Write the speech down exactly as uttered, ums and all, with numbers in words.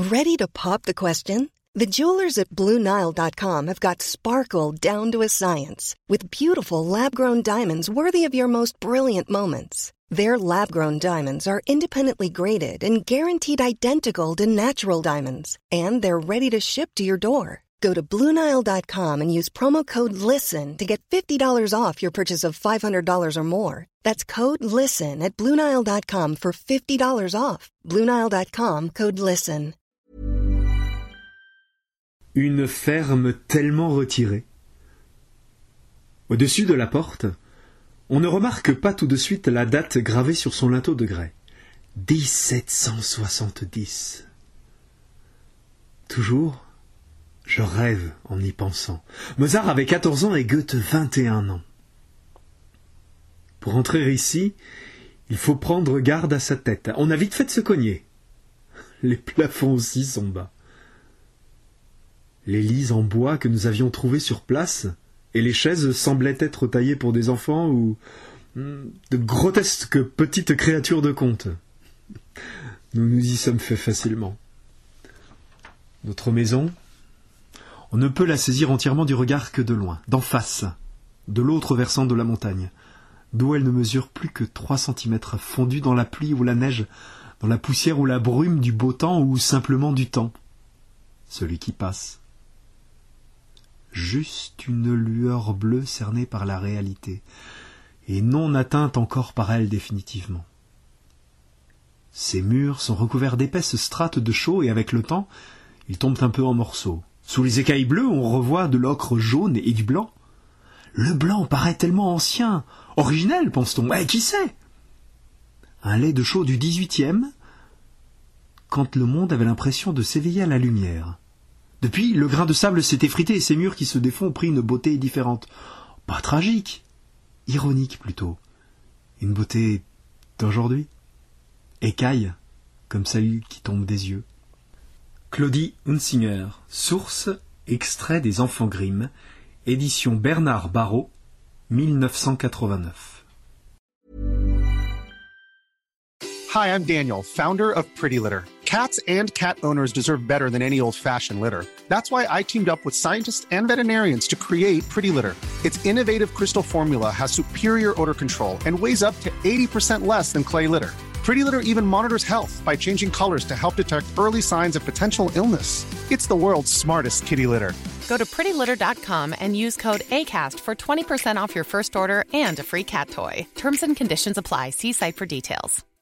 Ready to pop the question? The jewelers at Blue Nile dot com have got sparkle down to a science with beautiful lab-grown diamonds worthy of your most brilliant moments. Their lab-grown diamonds are independently graded and guaranteed identical to natural diamonds, and they're ready to ship to your door. Go to Blue Nile dot com and use promo code LISTEN to get fifty dollars off your purchase of five hundred dollars or more. That's code LISTEN at Blue Nile dot com for fifty dollars off. Blue Nile dot com, code LISTEN. Une ferme tellement retirée. Au-dessus de la porte, on ne remarque pas tout de suite la date gravée sur son linteau de grès. dix-sept cent soixante-dix. Toujours, je rêve en y pensant. Mozart avait quatorze ans et Goethe vingt et un ans. Pour entrer ici, il faut prendre garde à sa tête. On a vite fait de se cogner. Les plafonds aussi sont bas. Les lits en bois que nous avions trouvés sur place et les chaises semblaient être taillées pour des enfants ou de grotesques petites créatures de conte. Nous nous y sommes fait facilement. Notre maison, on ne peut la saisir entièrement du regard que de loin, d'en face, de l'autre versant de la montagne, d'où elle ne mesure plus que trois centimètres, fondue dans la pluie ou la neige, dans la poussière ou la brume du beau temps ou simplement du temps, celui qui passe. Juste une lueur bleue cernée par la réalité, et non atteinte encore par elle définitivement. Ces murs sont recouverts d'épaisses strates de chaux et avec le temps, ils tombent un peu en morceaux. Sous les écailles bleues, on revoit de l'ocre jaune et du blanc. Le blanc paraît tellement ancien, originel, pense-t-on. Eh, qui sait? Un lait de chaux du dix-huitième, quand le monde avait l'impression de s'éveiller à la lumière. Depuis, le grain de sable s'est effrité et ces murs qui se défont ont pris une beauté différente. Pas tragique, ironique plutôt. Une beauté d'aujourd'hui. Écaille, comme celle qui tombe des yeux. Claudie Hunsinger, source, extrait des Enfants Grimm, édition Bernard Barrault, mille neuf cent quatre-vingt-neuf. Hi, I'm Daniel, founder of Pretty Litter. Cats and cat owners deserve better than any old-fashioned litter. That's why I teamed up with scientists and veterinarians to create Pretty Litter. Its innovative crystal formula has superior odor control and weighs up to eighty percent less than clay litter. Pretty Litter even monitors health by changing colors to help detect early signs of potential illness. It's the world's smartest kitty litter. Go to pretty litter dot com and use code ACAST for twenty percent off your first order and a free cat toy. Terms and conditions apply. See site for details.